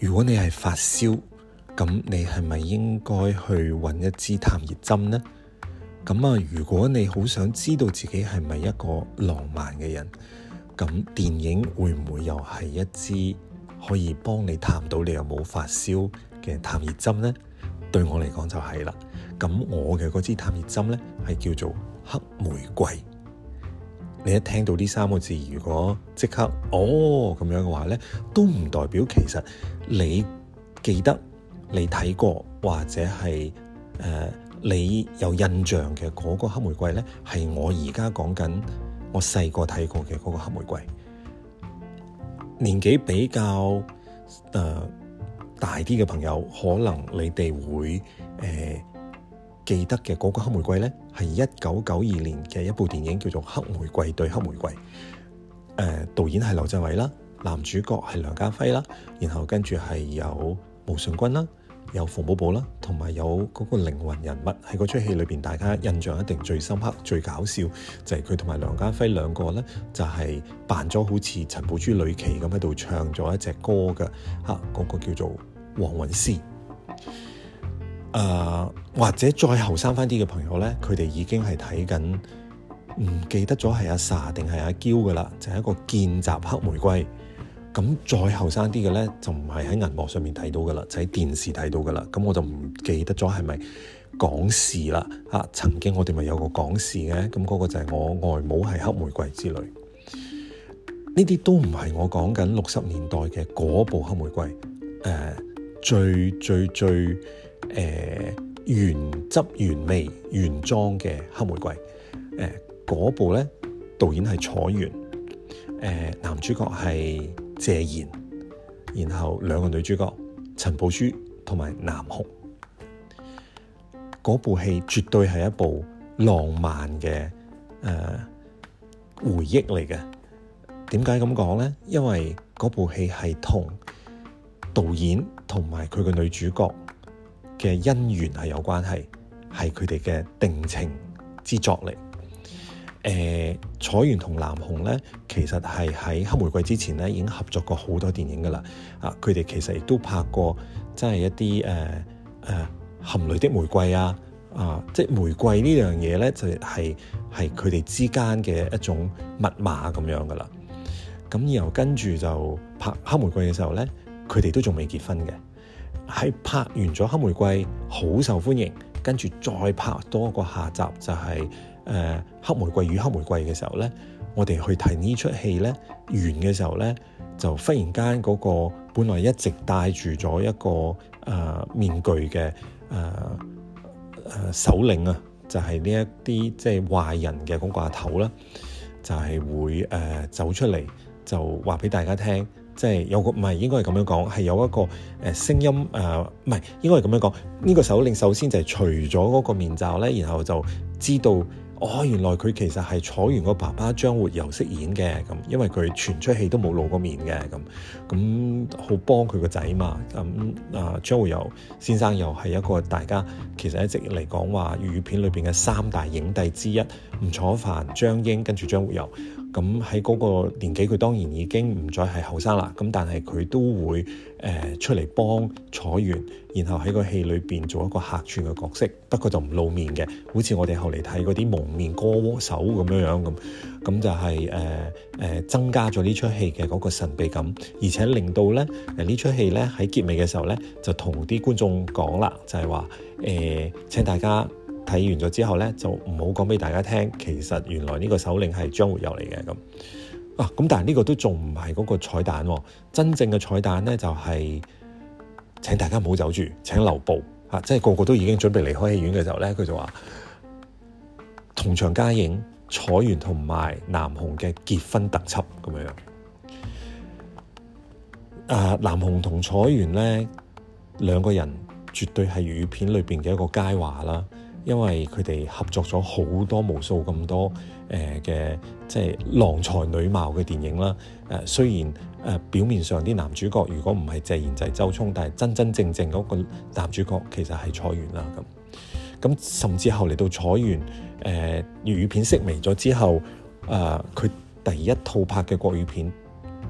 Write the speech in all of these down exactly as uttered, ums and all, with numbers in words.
如果你係發燒，咁你係咪應該去揾一支探熱針呢？咁啊，如果你好想知道自己係咪一個浪漫嘅人，咁電影會唔會又係一支可以幫你探到你有冇發燒嘅探熱針呢？對我嚟講就係啦。咁我嘅嗰支探熱針呢，係叫做黑玫瑰。你一聽到呢三個字，如果即刻哦咁樣嘅話呢，都唔代表其實你記得你睇過或者係誒、呃、你有印象嘅嗰個黑玫瑰呢，係我而家講緊我細個睇過嘅嗰個黑玫瑰。年紀比較誒、呃、大啲嘅朋友，可能你哋會誒、呃、記得嘅嗰個黑玫瑰呢，係一九九二年嘅一部電影叫做《黑玫瑰對黑玫瑰》。誒、呃，導演係劉鎮偉啦，男主角係梁家輝啦，然後跟住係有毛舜筠啦，有馮寶寶啦，同埋有嗰個靈魂人物喺嗰出戲裏邊，大家印象一定最深刻、最搞笑就係佢同埋梁家輝兩個咧，就係、是、扮咗好似陳寶珠、呂奇咁喺度唱咗一隻歌嘅嚇，嗰、那個叫做《黃韻詩》。誒、呃、或者再後生翻啲嘅朋友咧，佢哋已經係睇緊，唔記得咗係阿 sa 定係阿嬌噶啦，就係、是、一個見習黑玫瑰。咁再後生啲嘅咧，就唔係喺銀幕上面睇到噶啦，就喺電視睇到噶啦。咁我就唔記得咗係咪港視啦嚇。曾經我哋咪有個港視嘅，咁、那、嗰個就係我外母係黑玫瑰之類。呢啲都唔係我講緊六十年代嘅嗰部黑玫瑰。誒、呃、最最最誒、呃、原汁原味原裝嘅黑玫瑰。誒、呃、嗰部咧，導演係楚原，誒、呃、男主角係謝賢，然後兩個女主角陳寶珠同埋南紅。嗰部戲絕對係一部浪漫嘅誒、呃、回憶嚟嘅。點解咁講呢？因為嗰部戲係同導演同埋佢嘅女主角嘅姻緣係有關係，係佢哋嘅定情之作嚟。誒、呃，楚原同南紅咧，其實係喺黑玫瑰之前咧已經合作過好多電影噶啦。啊，佢哋其實亦都拍過，即係一啲誒誒含淚的玫瑰啊，啊，即係玫瑰呢樣嘢咧，就係係佢哋之間嘅一種密碼咁樣噶啦。咁然後跟住就拍黑玫瑰嘅時候咧，佢哋都仲未結婚嘅。喺拍完咗黑玫瑰好受歡迎，跟住再拍多一個下集就係、是。誒、呃、黑玫瑰與黑玫瑰嘅時候咧，我哋去睇呢出戲咧，完嘅時候咧，就忽然間嗰個本來一直戴住咗一個誒、呃、面具嘅誒誒首領啊，就係呢一啲即係壞人嘅嗰個阿頭啦，就係、是、會誒、呃、走出嚟，就話俾大家聽，即係有個唔係應該係咁樣講，係有一個誒聲音誒，唔係應該係咁樣講。呢、這個首領首先就係除咗嗰個面罩咧，然後就知道。哦，原來佢其實係楚原個爸爸張活游飾演嘅，咁因為佢全出戲都冇露過面嘅，咁咁好幫佢個仔嘛。咁啊，張活游先生又係一個大家其實一直嚟講話粵語片裏邊嘅三大影帝之一，吳楚帆、張瑛跟住張活游。咁喺嗰個年紀，佢當然已經唔再係後生啦。咁但係佢都會誒、呃、出嚟幫楚原，然後喺個戲裏邊做一個客串嘅角色，不過就唔露面嘅，好似我哋後嚟睇嗰啲蒙面歌手咁樣樣咁。咁就係誒誒增加咗呢出戲嘅嗰個神秘感，而且令到咧誒呢出戲咧喺結尾嘅時候咧，就同啲觀眾講啦，就係話誒請大家。睇完咗之後咧，就唔好講俾大家聽，其實原來呢個首領係張活游嚟嘅咁啊。咁但係呢個都仲唔係嗰個彩蛋喎，真正嘅彩蛋咧就係、是、請大家唔好走住，請留步嚇、啊，即係個個都已經準備離開戲院嘅時候咧，佢就話同場加映楚原同埋南紅嘅結婚特輯咁樣。啊，南紅同楚原咧兩個人絕對係粵語片裏邊嘅一個佳話啦。因為佢哋合作咗好多無數咁多誒嘅、呃、即係郎才女貌嘅電影啦。誒、呃、雖然誒、呃、表面上啲男主角如果唔係謝賢就係周聰，但係真真正正嗰個男主角其實係楚原啦。咁咁甚至後嚟到楚原誒粵語片式微咗之後，誒、呃、佢第一套拍嘅國語片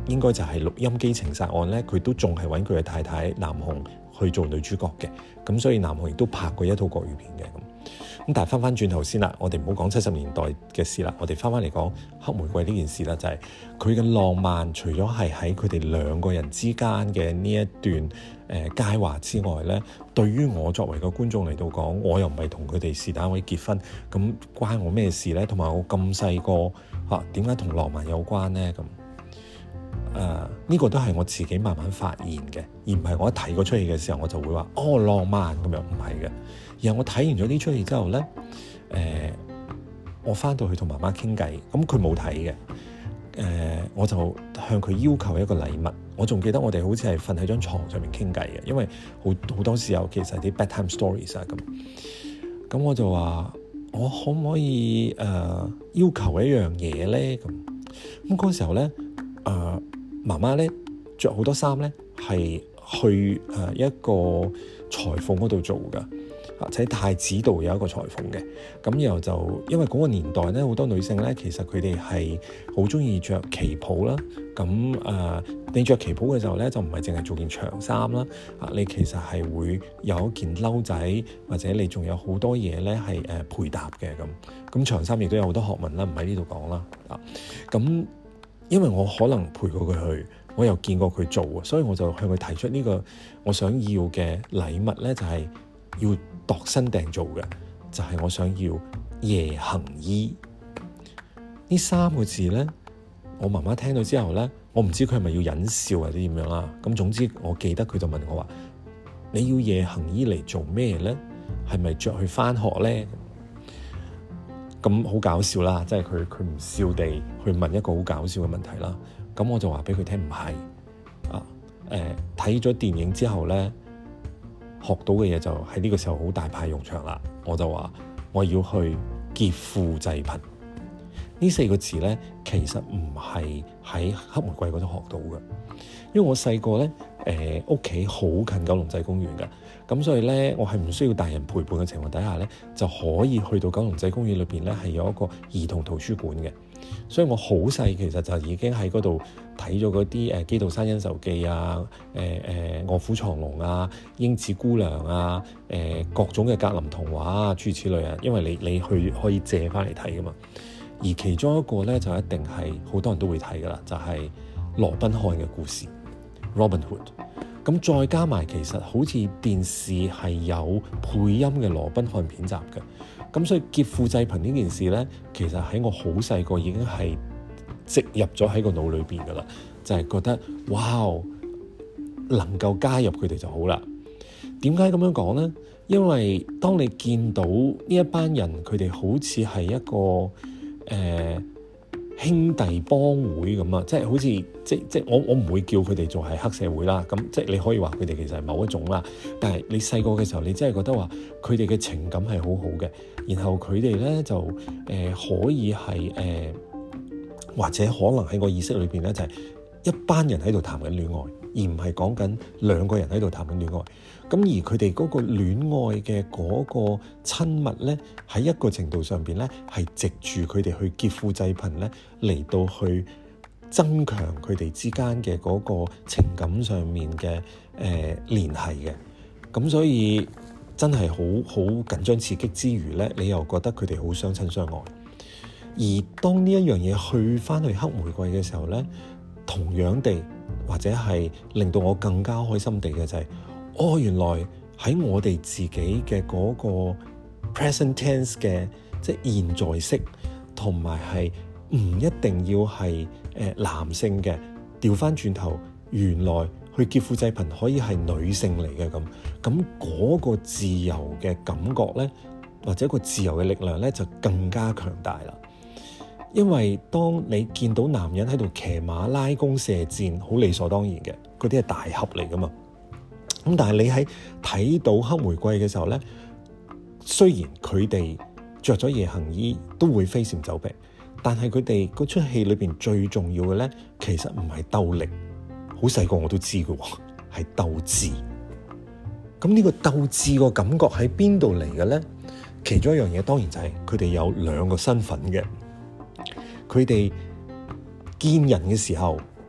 應該就係錄音機情殺案咧，佢都仲係揾佢嘅太太南紅去做女主角嘅。咁所以南紅亦都拍過一套國語片嘅咁。咁但係翻翻轉頭先啦，我哋唔好講七十年代嘅事啦，我哋翻翻嚟講黑玫瑰呢件事啦，就係佢嘅浪漫，除咗係喺佢哋兩個人之間嘅呢一段誒佳話之外咧，對於我作為個觀眾嚟到講，我又唔係同佢哋是但位結婚，咁關我咩事咧？同埋我咁細個嚇，點解同浪漫有關咧？咁誒呢個都係我自己慢慢發現嘅，而唔係我一睇嗰出戲嘅時候我就會話哦浪漫咁樣，唔係嘅。然後我睇完咗呢出戲之後咧，誒、呃，我翻到去同媽媽傾偈，咁佢冇睇嘅，誒、呃，我就向佢要求一個禮物。我仲記得我哋好似係瞓喺張床上面傾偈嘅，因為好好多時候其實啲 bedtime stories 啊咁。咁我就話：我可唔可以誒、呃、要求一樣嘢咧？咁咁嗰時候咧，誒、呃、媽媽咧着好多衫咧，係去誒一個裁縫嗰度做㗎。喺太子道有一個裁縫嘅，咁然後就因為嗰個年代咧，好多女性咧，其實佢哋係好中意着旗袍啦。咁誒、呃，你着旗袍嘅時候咧，就唔係淨係做件長衫啦，啊，你其實係會有一件褸仔，或者你仲有好多嘢咧係誒配搭嘅咁。咁長衫亦都有好多學問啦，唔喺呢度講啦。啊，咁因為我可能陪過佢去，我又見過佢做，所以我就向佢提出呢個我想要嘅禮物咧，就係要度身訂做嘅，就係、是、我想要夜行衣呢三個字咧。我媽媽聽到之後咧，我唔知佢係咪要忍笑或者點樣啦。咁總之我記得佢就問我話：你要夜行衣嚟做咩咧？係咪着去返學咧？咁好搞笑啦，即係佢佢唔笑地去問一個好搞笑嘅問題啦。咁我就話俾佢聽唔係啊，誒睇咗電影之後咧，學到嘅嘢就喺呢個時候好大派用場啦。我就話我要去劫富濟貧呢四個字咧，其實唔係喺黑玫瑰嗰度學到嘅，因為我細個咧誒屋企好近九龍仔公園嘅，咁所以咧我係唔需要大人陪伴嘅情況底下咧，就可以去到九龍仔公園裏邊咧係有一個兒童圖書館嘅，所以我好細其實就已經喺嗰度睇咗嗰啲誒《基督山恩仇記》啊、誒誒《臥虎藏龍》啊、《英子姑娘》啊、誒、呃、各種嘅格林童話啊諸如此類啊，因為你你去可以借翻嚟睇噶嘛。而其中一個咧就一定係好多人都會睇噶啦，就係、是、羅賓漢嘅故事 Robin Hood。咁再加埋其實好似電視係有配音嘅羅賓漢片集嘅，咁所以劫富濟貧呢件事咧，其實喺我好細個已經係植入咗喺個腦裏邊噶啦，就係、是、覺得哇，能夠加入佢哋就好啦。點解咁樣講咧？因為當你見到呢一班人，佢哋好似係一個誒、呃、兄弟幫會咁啊，即係好似即即我我唔會叫佢哋做係黑社會啦，咁即係你可以話佢哋其實係某一種啦。但係你細個嘅時候，你真係覺得話佢哋嘅情感係好好嘅，然後佢哋咧就誒、呃、可以係誒、呃、或者可能喺個意識裏邊咧就係、是、一班人喺度談緊戀愛，而唔係講緊兩個人喺度談緊戀愛。咁而佢哋嗰個戀愛嘅嗰個親密咧，喺一個程度上邊咧，係藉住佢哋去劫富濟貧咧，嚟到去增強佢哋之間嘅嗰個情感上面嘅誒聯繫嘅。咁所以真係好好緊張刺激之餘咧，你又覺得佢哋好相親相愛。而當呢一樣嘢去翻去黑玫瑰嘅時候咧，同樣地或者係令到我更加開心地嘅就係、是。哦，原來喺我哋自己嘅嗰個 present tense 嘅，即係現在式，同埋係唔一定要係誒、呃、男性嘅，調翻轉頭，原來去劫富濟貧可以係女性嚟嘅咁，咁嗰個自由嘅感覺咧，或者個自由嘅力量咧，就更加強大啦。因為當你見到男人喺度騎馬拉弓射箭，好理所當然嘅，嗰啲係大俠嚟噶嘛。咁但係你喺睇到黑玫瑰嘅時候咧，雖然佢哋着咗夜行衣都會飛檐走壁，但係佢哋嗰出戲裏邊最重要嘅咧，其實唔係鬥力，好細個我都知嘅喎，係鬥智。咁呢個鬥智個感覺喺邊度嚟嘅咧？其中一樣嘢當然就係佢哋有兩個身份嘅，佢哋見人嘅時候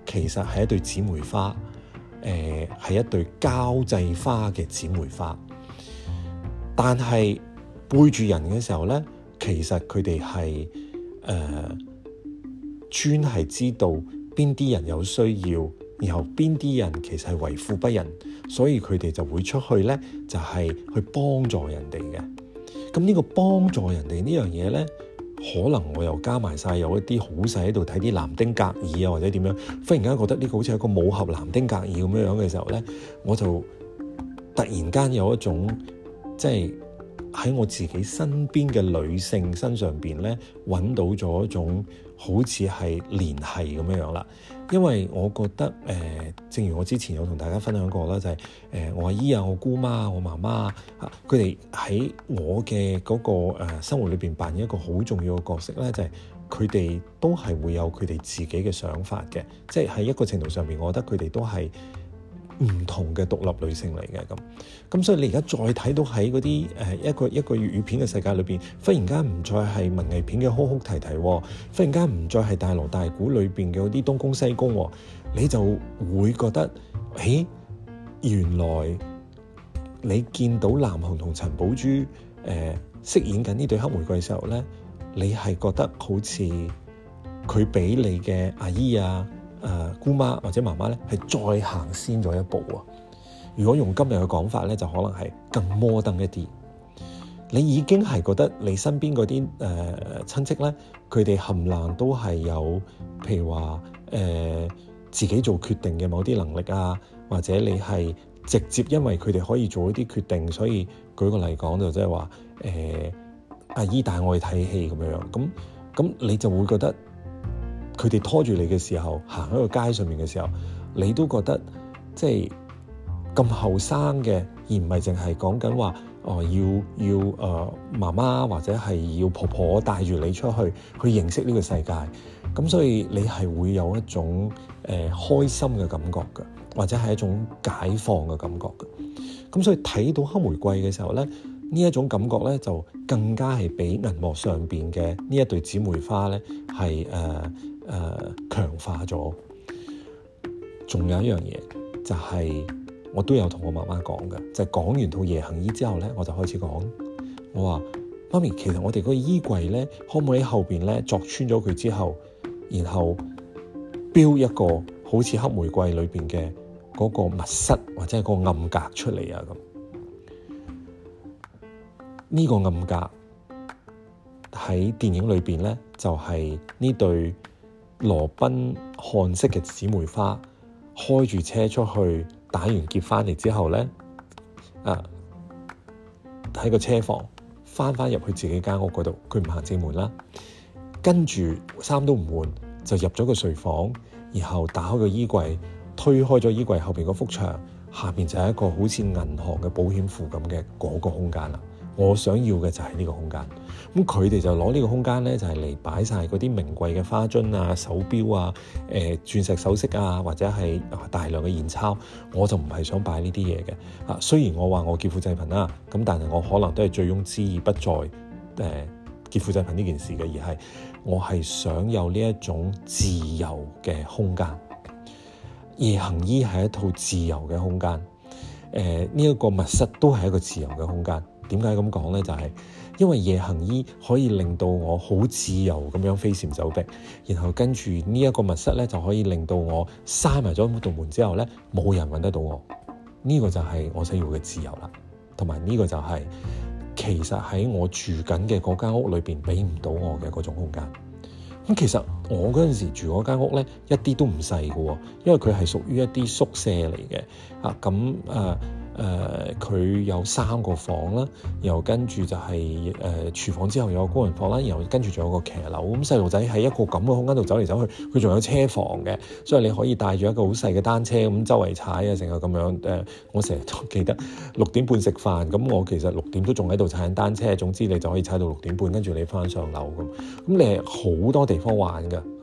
其實係一對姊妹花，誒、呃、係一對交際花嘅姊妹花。但係背住人嘅時候咧，其實佢哋係誒專係知道邊啲人有需要，然後邊啲人其實係為富不仁，所以佢哋就會出去咧，就係、是、去幫助人哋嘅。咁呢個幫助人哋呢樣嘢咧，可能我又加埋晒有一啲好細喺度睇啲南丁格爾啊，或者點樣，忽然間覺得呢個好似一個武俠南丁格爾咁樣樣嘅時候咧，我就突然間有一種即係喺我自己身邊嘅女性身上邊咧，揾到咗一種好似係聯繫咁樣樣啦。因為我覺得誒、呃，正如我之前有同大家分享過啦，就係、是、誒、呃、我阿姨啊、我姑媽啊、我媽媽啊，佢哋喺我嘅嗰、那個、呃、生活裏邊扮演一個好重要嘅角色咧，就係佢哋都係會有佢哋自己嘅想法嘅，即係喺一個程度上面，我覺得佢哋都係唔同嘅獨立女性嚟嘅咁，咁所以你而家再睇到喺嗰啲誒一個一個粵語片嘅世界裏邊，忽然間唔再係文藝片嘅哭哭啼啼，忽然間唔再係大鑼大鼓裏邊嘅嗰啲東宮西宮，你就會覺得，誒，原來你見到南紅同陳寶珠誒、呃、飾演緊呢對黑玫瑰嘅時候咧，你係覺得好似佢比你嘅阿姨啊、誒、呃、姑媽或者媽媽咧，係再行先咗一步啊！如果用今日嘅講法咧，就可能係更摩登一啲。你已經係覺得你身邊嗰啲誒親戚咧，佢哋冚唪都係有，譬如話誒、呃、自己做決定嘅某啲能力啊，或者你係直接因為佢哋可以做一啲決定，所以舉個例講就即係話誒阿姨帶我去睇戲咁樣樣，咁咁你就會覺得。佢哋拖住你嘅時候，行喺個街上面嘅時候，你都覺得即係咁後生嘅，而唔係淨係講緊話哦，要要誒、呃、媽媽或者係要婆婆帶住你出去去認識呢個世界。咁所以你係會有一種誒、呃、開心嘅感覺嘅，或者係一種解放嘅感覺嘅。咁所以睇到黑玫瑰嘅時候咧，呢一種感覺咧就更加係比銀幕上邊嘅呢一對姊妹花咧係誒。誒、呃、強化咗，仲有一樣嘢就係、是、我都有同我媽媽講嘅，就係、是、講完套夜行衣之後咧，我就開始講，我話媽咪，其實我哋個衣櫃咧，可唔可以喺後邊咧鑿穿咗佢之後，然後標一個好似黑玫瑰裏邊嘅嗰個密室或者係個暗格出嚟啊？咁呢、這個暗格喺電影裏邊咧，就係、是、呢對羅賓漢式嘅姊妹花開住車出去打完劫翻嚟之後咧，啊喺個車房翻翻入去自己間屋嗰度，佢唔行正門啦，跟住衫都唔換就入咗個睡房，然後打開個衣櫃，推開咗衣櫃後邊嗰幅牆，下邊就係一個好似銀行嘅保險庫咁嘅嗰個空間啦。我想要嘅就係呢個空間，咁佢哋就攞呢個空間咧，就係嚟擺晒嗰啲名貴嘅花樽啊、手錶啊、誒、呃、鑽石首飾啊，或者係大量嘅現鈔。我就唔係想擺呢啲嘢嘅。啊，雖然我話我劫富濟貧啦，咁但係我可能都係醉翁之意不在誒、呃、劫富濟貧呢件事嘅，而係我係想有呢一種自由嘅空間。夜行衣係一套自由嘅空間，誒呢一個密室都係一個自由嘅空間。點解咁講咧？就係、是、因為夜行衣可以令到我好自由咁樣飛檐走壁，然後跟住呢一個密室咧就可以令到我閂埋咗道門之後咧，冇人揾得到我。呢、這個就係我想要嘅自由啦，同埋呢個就係、是、其實喺我住緊嘅嗰間屋裏邊俾唔到我嘅嗰種空間。咁其實我嗰陣時住嗰間屋咧，一啲都唔細㗎，因為佢係屬於一啲宿舍嚟嘅啊。咁誒。呃誒佢、呃、有三個房啦，然後跟住就係、是、誒、呃、廚房之後有個工人房啦，然後跟住仲有個騎樓。咁細路仔喺一個咁嘅空間度走嚟走去，佢仲有車房嘅，所以你可以帶住一個好細嘅單車咁周圍踩啊，成日咁樣誒、呃。我成日都記得六點半食飯，咁我其實六點都仲喺度踩緊單車。總之你就可以踩到六點半，跟住你翻上樓咁。咁你係好多地方玩㗎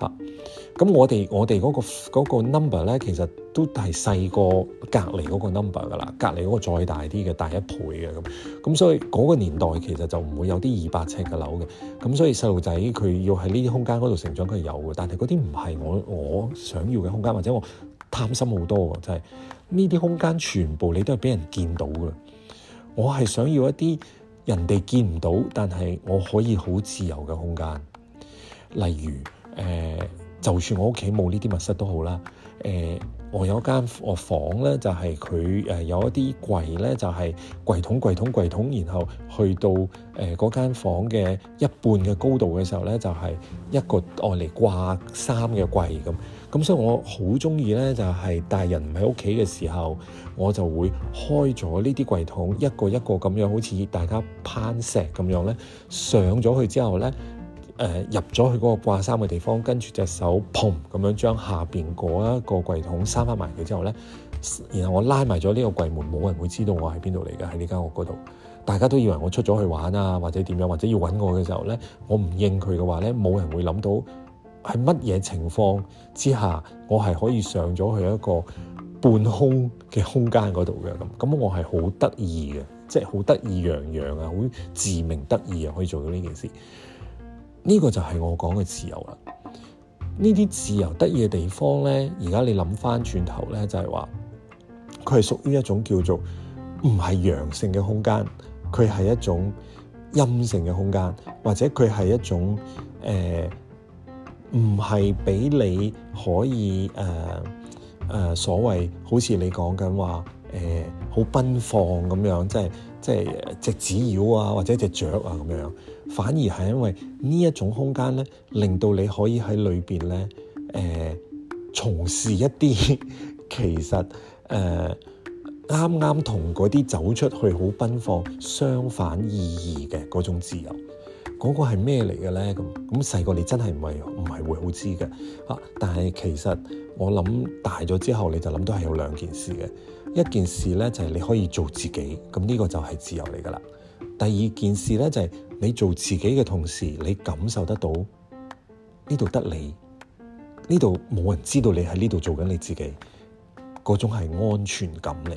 嚇。咁我哋我哋嗰個嗰個 number 咧，其實都係細過隔離嗰個 number 噶啦，隔離嗰個再大啲嘅，大一倍嘅咁。咁所以嗰個年代其實就唔會有啲二百尺嘅樓嘅。咁所以細路仔佢要喺呢啲空間嗰度成長，佢係有嘅。但係嗰啲唔係我我想要嘅空間，或者我貪心好多嘅，就係呢啲空間全部你都係俾人見到嘅。我係想要一啲人哋見唔到，但係我可以好自由嘅空間。例如誒。呃就算我屋企冇呢啲密室都好啦，誒、呃，我有一間我房咧，就係佢誒有一啲櫃咧，就係、是、櫃桶櫃桶櫃桶，然後去到誒嗰間房嘅一半嘅高度嘅時候咧，就係、是、一個愛嚟掛衫嘅櫃咁。咁所以我好中意咧，就係、是、大人唔喺屋企嘅時候，我就會開咗呢啲櫃桶，一個一個咁樣，好似大家攀石咁樣咧，上咗去之後咧。誒、呃、入咗去嗰個掛衫嘅地方，跟住隻手砰咁樣將下邊嗰一個櫃桶閂翻埋佢之後咧，然後我拉埋咗呢個櫃門，冇人會知道我喺邊度嚟嘅，喺呢間屋嗰度。大家都以為我出咗去玩啊，或者點樣，或者要揾我嘅時候咧，我唔應佢嘅話咧，冇人會諗到係乜嘢情況之下，我係可以上咗去一個半空嘅空間嗰度嘅咁。咁我係好得意嘅，即係好得意洋洋啊，好自鳴得意啊，可以做到呢件事。呢個就係我講嘅自由啦。呢啲自由得意嘅地方咧，而家你諗翻轉頭咧，就係話佢係屬於一種叫做唔係陽性嘅空間，佢係一種陰性嘅空間，或者佢係一種誒唔係俾你可以誒誒、呃呃、所謂好似你講緊話誒好奔放咁樣，即係即係隻紙鷂啊，或者隻雀啊咁樣。反而係因為呢一種空間咧，令到你可以喺裏邊咧，誒、呃、從事一啲其實誒啱啱同嗰啲走出去好奔放相反意義嘅嗰種自由。嗰、那個係咩嚟嘅咧？咁咁細個你真係唔係唔係會好知嘅啊！但係其實我諗大咗之後，你就諗到係有兩件事嘅。一件事咧就係、是、你可以做自己，咁呢個就係自由嚟噶啦。第二件事咧就係、是、你做自己嘅同時，你感受得到呢度得你，呢度冇人知道你喺呢度做緊你自己，嗰種係安全感嚟嘅。誒、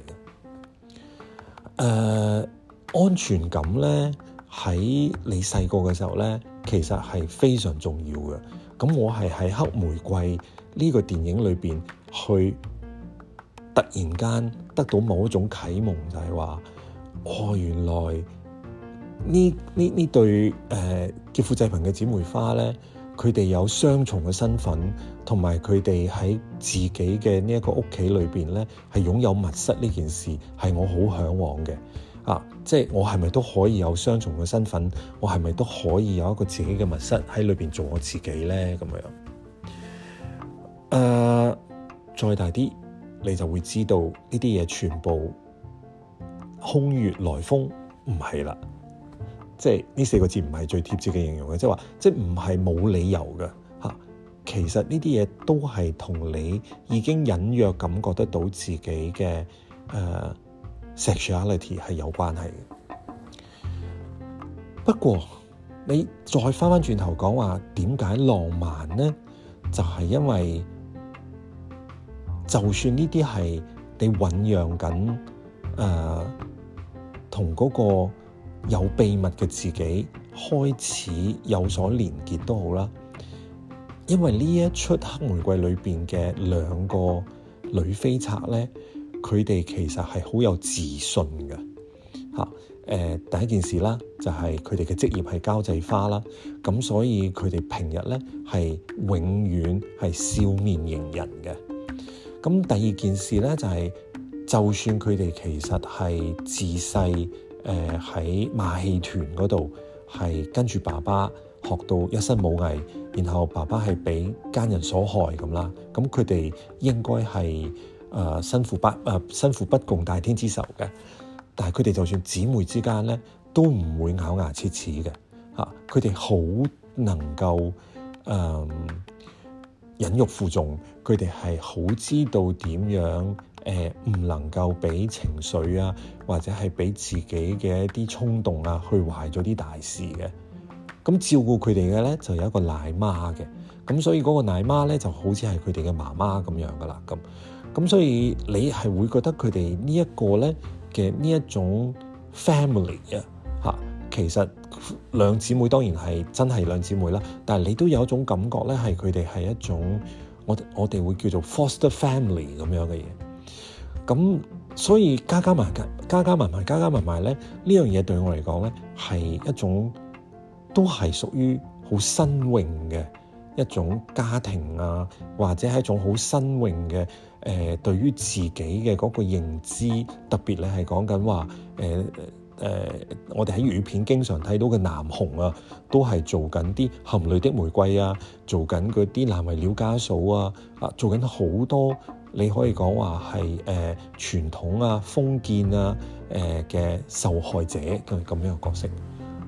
呃，安全感咧喺你細個嘅時候咧，其實係非常重要嘅。咁我係喺黑玫瑰呢個電影裏邊去突然間得到某一種啟蒙，就係話，哦，原來呢呢呢對誒劫富濟貧嘅姊妹花咧，佢哋有雙重嘅身份，同埋佢哋喺自己嘅呢一個屋企裏邊咧，係擁有密室呢件事，係我好向往嘅。啊，即係我係咪都可以有雙重嘅身份？我係咪都可以有一個自己嘅密室喺裏邊做我自己咧？咁樣，誒、呃，再大啲，你就會知道呢啲嘢全部空穴來風，唔係啦。即係呢四個字唔係最貼切嘅形容嘅，即係話，即係唔係冇理由嘅嚇。其實呢啲嘢都係同你已經隱約感覺得到自己嘅誒、呃、sexuality 係有關係嘅。不過你再翻翻轉頭講話點解浪漫呢？就係、是、因為就算呢啲係你醖釀緊誒同嗰個有秘密嘅自己開始有所連結都好啦，因為呢一出黑玫瑰裏邊嘅兩個女飛賊咧，佢哋其實係好有自信嘅嚇。誒、呃，第一件事啦，就係佢哋嘅職業係交際花啦，咁所以佢哋平日咧係永遠係笑面迎人嘅。咁第二件事咧就係、是，就算佢哋其實係自細。誒喺馬戲團嗰度係跟住爸爸學到一身武藝，然後爸爸係俾奸人所害咁啦。咁佢哋應該係誒身負不誒身負不共戴天之仇嘅。但係佢哋就算姊妹之間咧，都唔會咬牙切齒嘅嚇。佢哋好能夠誒、呃、忍辱負重，佢哋係好知道點樣。誒唔、呃、能夠俾情緒啊，或者係俾自己嘅一啲衝動啊，去壞咗啲大事嘅。咁照顧佢哋嘅咧，就有一個奶媽嘅。 咁所以嗰個奶媽咧就好似係佢哋嘅媽媽咁樣噶啦，咁咁所以你係會覺得佢哋呢一個咧嘅呢一種 family 啊嚇，其實兩姊妹當然係真係兩姊妹啦，但係你都有一種感覺咧，係佢哋係一種我我哋會叫做 foster family 咁樣嘅嘢。咁所以加加埋加加埋埋加加埋埋咧，呢樣嘢對我嚟講咧係一種都係屬於好新穎嘅一種家庭啊，或者係一種好新穎嘅誒對於自己嘅嗰個認知，特別你係講緊話誒誒，我哋喺粵語片經常睇到嘅南紅啊，都係做緊啲含淚的玫瑰啊，做緊嗰啲難為了家嫂啊，啊做緊好多你可以講話係誒傳統啊封建啊誒嘅、呃、受害者嘅咁樣嘅角色。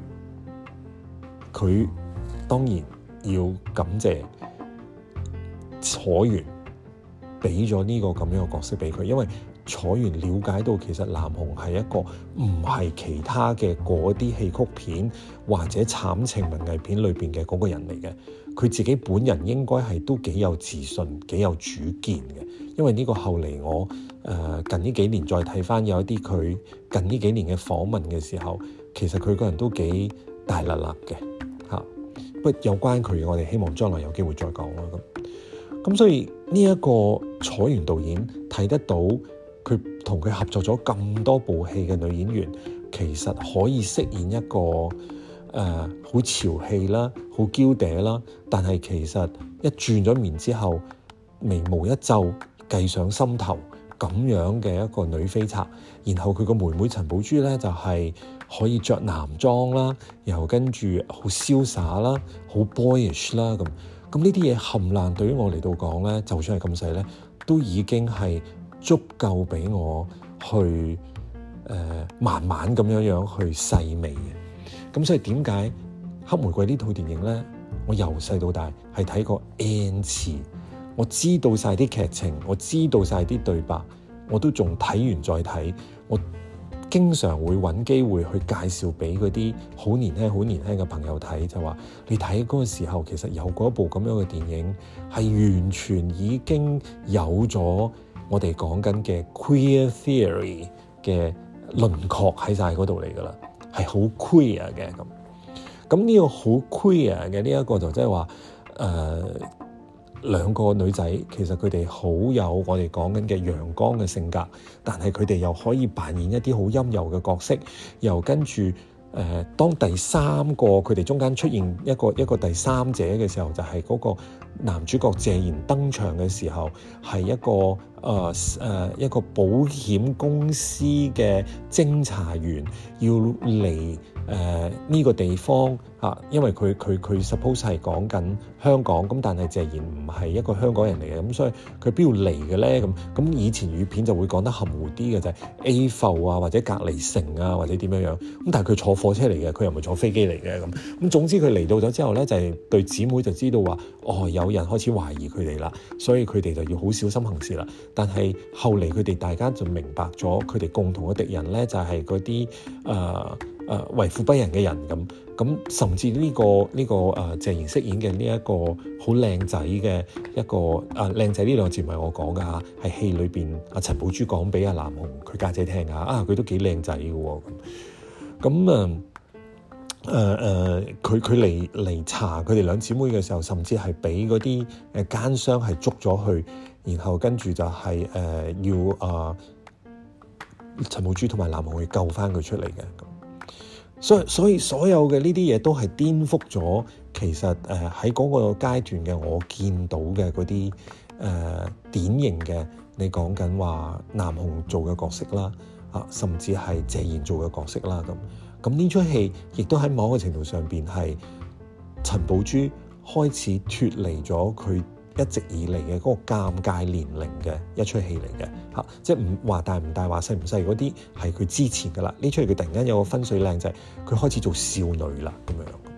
佢當然要感謝楚原俾咗呢個咁樣嘅角色俾佢，因為楚原了解到其實南紅係一個唔係其他嘅嗰啲戲曲片或者慘情文藝片裏邊嘅嗰個人嚟嘅，佢自己本人應該係都幾有自信、幾有主見嘅。因為呢個後嚟我誒、呃、近呢幾年再睇翻有一啲佢近呢幾年嘅訪問嘅時候，其實佢個人都幾大辣辣嘅嚇。不過有關佢，我哋希望將來有機會再講啦。咁咁所以呢一個楚原導演睇得到。佢同佢合作咗咁多部戲嘅女演員，其實可以飾演一個誒好、呃、潮氣啦、好嬌嗲啦，但係其實一轉咗面之後，眉毛一皺，計上心頭咁樣嘅一個女飛賊。然後佢個妹妹陳寶珠咧就係、是、可以着男裝啦，然後跟住好瀟灑啦、好 boyish 啦咁。咁呢啲嘢冚爛對於我嚟到講咧，就算係咁細咧，都已經係足夠俾我去誒、呃、慢慢咁樣樣去細味嘅。咁所以點解黑玫瑰呢套電影咧，我由細到大係睇過 N 次，我知道晒啲劇情，我知道晒啲對白，我都仲睇完再睇。我經常會揾機會去介紹俾嗰啲好年輕好年輕嘅朋友睇，就話你睇嗰個時候其實有嗰一部咁樣嘅電影係完全已經有咗我哋講緊嘅 queer theory 嘅輪廓喺晒嗰度嚟噶啦，係好 queer 嘅咁。咁呢個好 queer 嘅呢一個就即係話誒兩個女仔其實佢哋好有我哋講緊嘅陽光嘅性格，但係佢哋又可以扮演一啲好陰柔嘅角色，又跟住誒、呃、當第三個佢哋中間出現一個一個第三者嘅時候，就係、是、嗰個男主角謝賢登場嘅時候，係一個誒誒、呃、一個保險公司嘅偵查員要嚟誒呢個地方嚇、啊，因為佢佢佢 suppose 係講緊香港，咁但係謝賢唔係一個香港人嚟嘅，咁所以佢邊度嚟嘅咧？咁咁以前語片就會講得含糊啲嘅，就係、是、A 埠啊，或者隔離城啊，或者點樣樣。咁但係佢坐火車嚟嘅，佢又唔係坐飛機嚟嘅咁。咁總之佢嚟到咗之後咧，就係、是、對姊妹就知道話，哦有人開始懷疑佢哋啦，所以佢哋就要好小心行事啦。但係後嚟佢哋大家就明白咗，佢哋共同嘅敵人咧就係嗰啲誒誒為富不仁嘅人咁。咁甚至呢、這個呢、這個誒、呃、謝賢飾演嘅呢一個好靚仔嘅一個誒靚仔，呢兩個字唔係我講噶嚇，係戲裏邊阿陳寶珠講俾阿南紅佢家姐聽啊，啊佢都幾靚仔嘅喎咁。咁啊誒誒佢佢嚟嚟查佢哋兩姊妹嘅時候，甚至係俾嗰啲誒奸商係捉咗去，然後跟住就係、是、誒、呃、要啊陳寶珠同埋南紅去救翻佢出嚟嘅。所以所以所有嘅呢啲嘢都係顛覆咗，其實誒喺嗰個階段嘅我見到嘅嗰啲誒典型嘅你講緊話南紅做嘅角色啦，啊甚至係謝賢做嘅角色啦咁。咁呢出戲亦都喺某個程度上邊係陳寶珠開始脫離咗佢一直以嚟嘅嗰個尷尬年齡嘅一出戲嚟嘅嚇，即係唔話大唔大話細唔細嗰啲係佢之前噶啦。呢出戲佢突然間有個分水嶺就係佢開始做少女啦咁樣。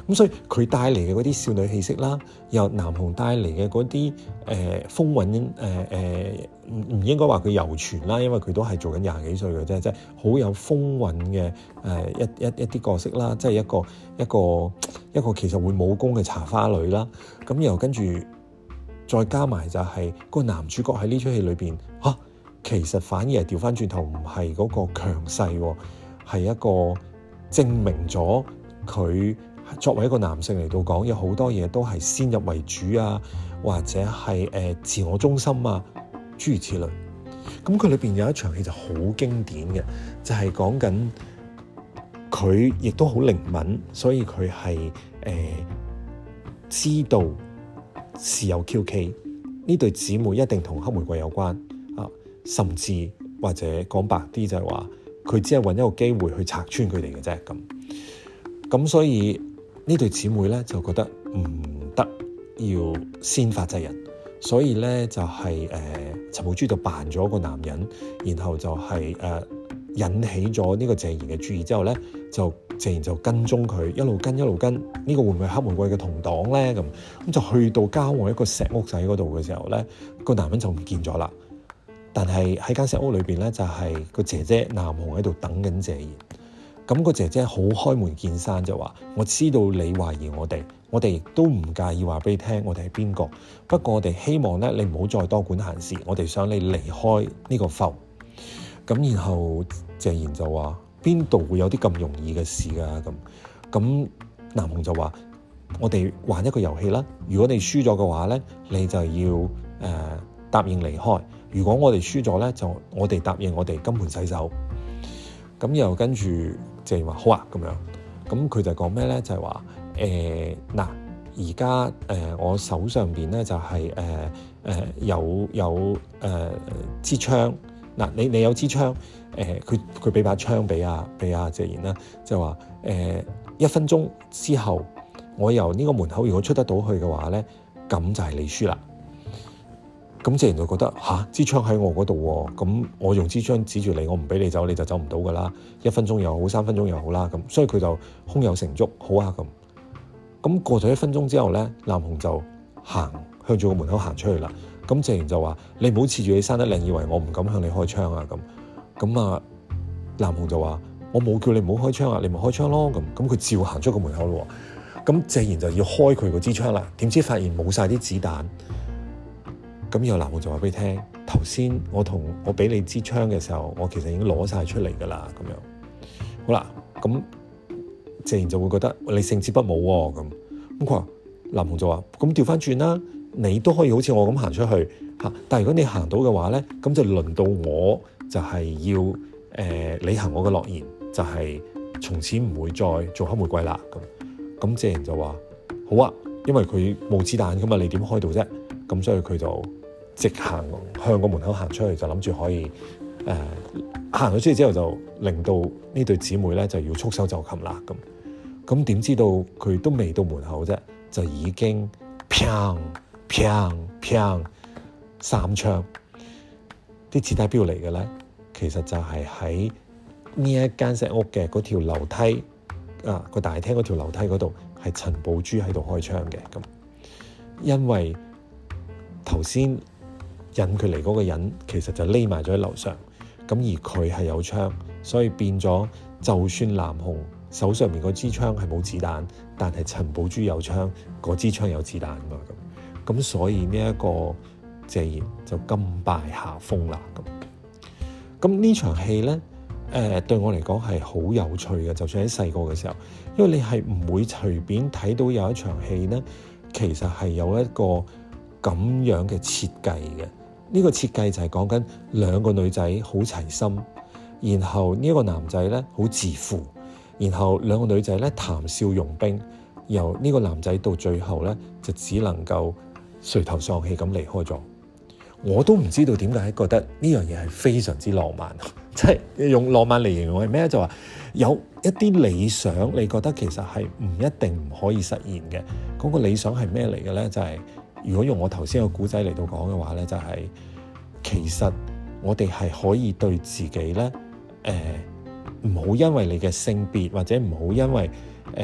咁所以佢帶嚟嘅嗰啲少女氣息啦，由南紅帶嚟嘅嗰啲誒風韻，誒誒唔唔應該話佢猶存啦，因為佢都係做緊廿幾歲嘅啫，即係好有風韻嘅誒一一一啲角色啦，即係一個一個一個其實會武功嘅茶花女啦。咁又跟住再加埋就係個男主角喺呢出戲裏邊嚇，其實反而係調翻轉頭，唔係嗰個強勢，係一個證明咗佢作為一個男性嚟到講，有好多嘢都係先入為主啊，或者係誒、呃、自我中心啊，諸如此類。咁佢裏邊有一場戲就好經典嘅，就係講緊佢亦都好靈敏，所以佢係誒知道是有 Q K 呢對姊妹一定同黑玫瑰有關啊，甚至或者講白啲就係話佢只係揾一個機會去拆穿佢哋嘅啫。咁咁所以呢對姊妹咧就覺得唔得，要先發制人，所以咧就係、是、誒、呃、陳寶珠就扮咗個男人，然後就係、是、誒、呃、引起咗呢個謝賢嘅注意之後咧，就謝賢就跟蹤佢，一路跟一路跟，呢、這個會唔會係黑玫瑰嘅同黨咧？咁咁就去到郊外一個石屋仔嗰度嘅時候咧，個男人就唔見咗啦。但係喺間石屋裏邊咧，就係、是、個姐姐南紅喺度等緊謝賢。咁個姐姐好開門見山就話：我知道你懷疑我哋，我哋亦都唔介意話俾你聽我哋係邊個。不過我哋希望咧，你唔好再多管閒事，我哋想你離開呢個埠。咁然後謝賢就話：邊度會有啲咁容易嘅事㗎？咁咁南紅就話：我哋玩一個遊戲啦。如果你輸咗嘅話咧，你就要誒、呃、答應離開。如果我哋輸咗咧，就我哋答應我哋金盆洗手。咁又跟住謝賢話好啊咁樣，咁佢就講咩咧？就係話誒嗱，而家誒我手上邊咧就係誒誒有有誒支槍嗱，你你有支槍誒，佢佢俾把槍俾阿俾阿謝賢啦，就話誒一分鐘之後，我由呢個門口如果出得到去嘅話咧，咁就係你輸啦。咁謝賢就覺得吓，支槍喺我嗰度喎，咁我用支槍指住你，我唔俾你走，你就走唔到噶啦。一分鐘又好，三分鐘又好啦，咁所以佢就胸有成竹，好啊咁。咁過咗一分鐘之後咧，南紅就行向住個門口行出去啦。咁謝賢就話：你唔好恃住你生得靚，以為我唔敢向你開槍啊咁。咁啊，南紅就話：我冇叫你唔好開槍啊，你咪開槍咯咁。咁佢照行出個門口咯。咁謝賢就要開佢個支槍啦，點知發現冇晒啲子彈。咁然後南紅就話俾你聽，頭先我同我俾你支槍嘅時候，我其實已經攞晒出嚟噶啦，咁樣好啦。咁謝賢就會覺得你勝之不武喎，咁咁佢話南紅就話：咁調翻轉啦，你都可以好似我咁行出去嚇，但係如果你行到嘅話咧，咁就輪到我就係要誒、呃、履行我嘅諾言，就係、是、從此唔會再做黑玫瑰啦。咁咁謝賢就話：好啊，因為佢冇子彈噶嘛，你點開到啫？咁所以佢就直行向個門口行出去，就諗住可以誒行咗出去之後，就令到呢對姊妹咧就要束手就擒啦。咁咁點知道佢都未到門口啫，就已經砰砰砰三槍，啲子彈邊度嚟嘅咧？其實就係喺呢一間石屋嘅嗰條樓梯啊，個大廳嗰條樓梯嗰度，係陳寶珠喺度開槍嘅。咁因為頭先引佢嚟嗰個人其實就匿埋咗喺樓上，咁而佢係有槍，所以變咗就算南紅手上面嗰支槍係冇子彈，但係陳寶珠有槍，嗰支槍有子彈嘛。咁咁所以呢一個謝賢就甘拜下風啦。咁咁呢場戲咧，誒、呃、對我嚟講係好有趣嘅，就算喺細個嘅時候，因為你係唔會隨便睇到有一場戲咧，其實係有一個咁樣嘅設計嘅。呢個設計就係講緊兩個女仔好齊心，然後呢一個男仔咧好自負，然後兩個女仔咧談笑用兵，由呢個男仔到最後咧就只能夠垂頭喪氣咁離開咗。我都唔知道點解覺得呢樣嘢係非常之浪漫，即係用浪漫嚟形容係咩？就話有一啲理想，你覺得其實係唔一定唔可以實現嘅。嗰個理想係咩嚟嘅咧？就係如果用我頭先個故仔嚟到講嘅話咧，就係其實我哋係可以對自己咧，誒唔好因為你嘅性別或者唔好因為誒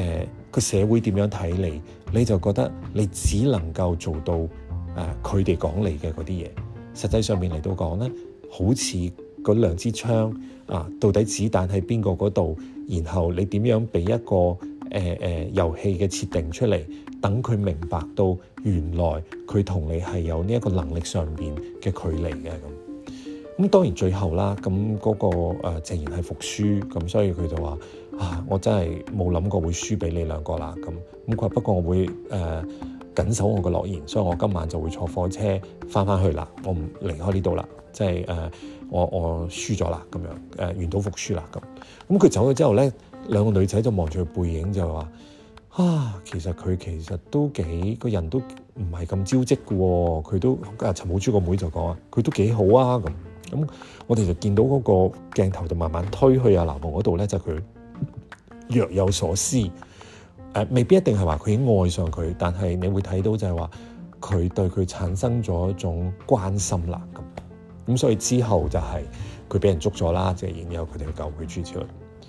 個社會點樣睇你，你就覺得你只能夠做到誒佢哋講你嘅嗰啲嘢。實際上面嚟到講咧，好似嗰兩支槍啊，到底子彈喺邊個嗰度，然後你點樣俾一個誒誒遊戲嘅設定出嚟，等佢明白到原來佢同你係有呢一個能力上邊嘅距離嘅咁。咁當然最後啦，咁嗰、那個誒、呃、鄭賢係服輸，咁所以佢就話啊，我真係冇諗過會輸俾你兩個啦。咁咁佢話不過我會誒、呃、緊守我個諾言，所以我今晚就會坐火車翻返去啦，我唔離開呢度啦。即係誒我我輸咗啦，咁樣誒願賭服輸啦咁。咁佢走咗之後咧，兩個女仔就望住佢背影就話啊，其實佢其實都幾個人都唔係咁招積嘅喎，佢都啊陳寶珠個妹就講啊，佢都幾好啊咁。咁我哋就見到嗰個鏡頭就慢慢推去阿南王嗰度咧，就佢若有所思，誒、呃、未必一定係話佢已經愛上佢，但係你會睇到就係話佢對佢產生咗一種關心啦咁。咁所以之後就係佢俾人捉咗啦，即係然後佢哋去救佢出去。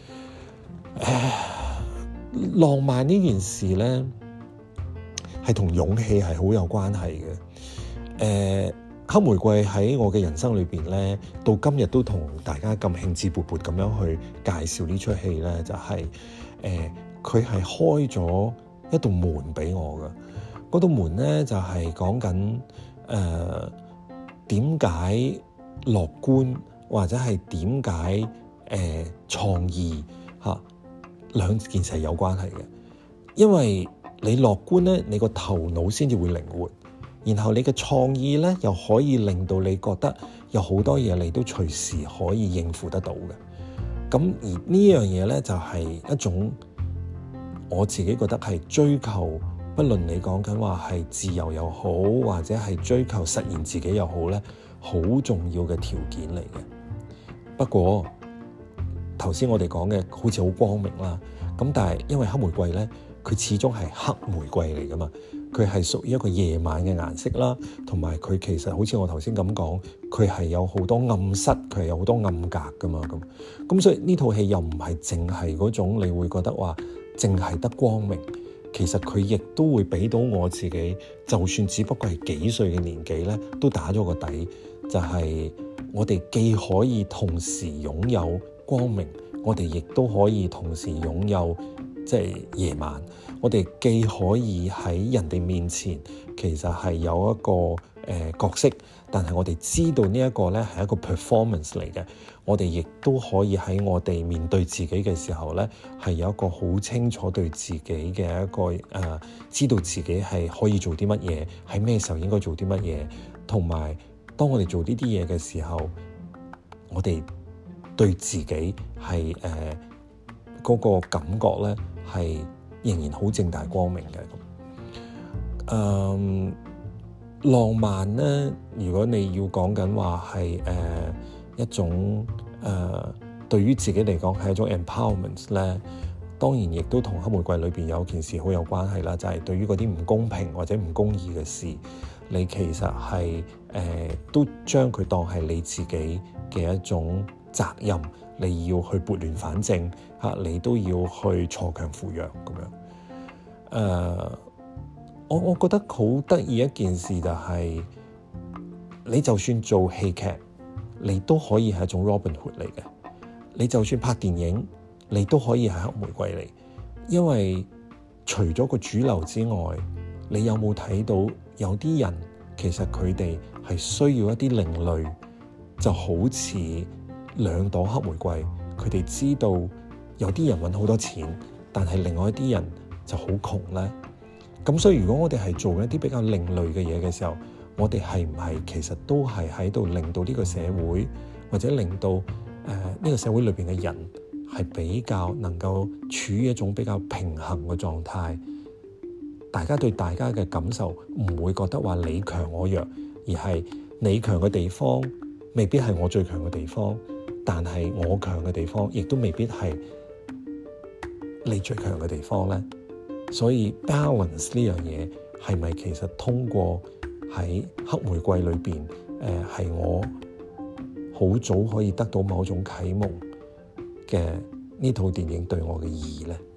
誒，浪漫呢件事咧係同勇氣係好有關係嘅。誒、呃。黑玫瑰喺我嘅人生裏邊咧，到今日都同大家咁興致勃勃咁樣去介紹呢出戲咧，就係誒佢係開咗一道門俾我嘅。嗰道門咧就係講緊誒點解樂觀或者係點解誒創意嚇、啊、兩件事係有關係嘅。因為你樂觀咧，你個頭腦先至會靈活。然後你嘅創意咧，又可以令到你覺得有好多嘢你都隨時可以應付得到嘅。咁而呢樣嘢咧，就係一種我自己覺得係追求，不論你講緊話係自由又好，或者係追求實現自己又好咧，好重要嘅條件嚟嘅。不過頭先我哋講嘅好似好光明啦，咁但係因為黑玫瑰咧，佢始終係黑玫瑰嚟噶嘛。佢係屬於一個夜晚嘅顏色啦，同埋佢其實好似我頭先咁講，佢係有好多暗室，佢係有好多暗格噶嘛咁。咁所以呢套戲又唔係淨係嗰種你會覺得話淨係得光明，其實佢亦都會俾到我自己，就算只不過係幾歲嘅年紀咧，都打咗個底，就係、是、我哋既可以同時擁有光明，我哋亦都可以同時擁有即係夜晚。我哋既可以喺人哋面前，其實係有一個誒、呃、角色，但係我哋知道呢一個咧係一個 performance 嚟嘅。我哋亦都可以喺我哋面對自己嘅時候咧，係有一個好清楚對自己嘅一個誒、呃，知道自己係可以做啲乜嘢，喺咩時候應該做啲乜嘢，同埋當我哋做呢啲嘢嘅時候，我哋對自己係誒嗰個感覺咧係仍然好正大光明嘅咁。誒、嗯，浪漫咧，如果你要講緊話係誒一種誒、呃、對於自己嚟講係一種 empowerment 咧，當然亦都同黑玫瑰裏邊有件事好有關係啦，就係、是、對於嗰啲唔公平或者唔公義嘅事，你其實係誒、呃、都將佢當係你自己嘅一種責任，你要去撥亂反正嚇，你都要去鋤強扶弱咁樣。誒、呃，我我覺得好得意一件事就係、是，你就算做戲劇，你都可以係一種 Robin Hood 嚟嘅；你就算拍電影，你都可以係黑玫瑰嚟。因為除咗個主流之外，你有冇睇到有啲人其實佢哋係需要一啲另類，就好似兩朵黑玫瑰，佢哋知道有啲人揾好多錢，但係另外一啲人就好窮咧。咁所以如果我哋係做一啲比較另類嘅嘢嘅時候，我哋係唔係其實都係喺度令到呢個社會，或者令到誒呢、呃呢個社會裏邊嘅人係比較能夠處於一種比較平衡嘅狀態，大家對大家嘅感受唔會覺得話你強我弱，而係你強嘅地方未必係我最強嘅地方，但係我強嘅地方亦都未必係你最強嘅地方咧。所以 balance 呢樣嘢係咪其實通過喺黑玫瑰裏邊誒係我好早可以得到某種啟蒙嘅呢套電影對我嘅意義咧？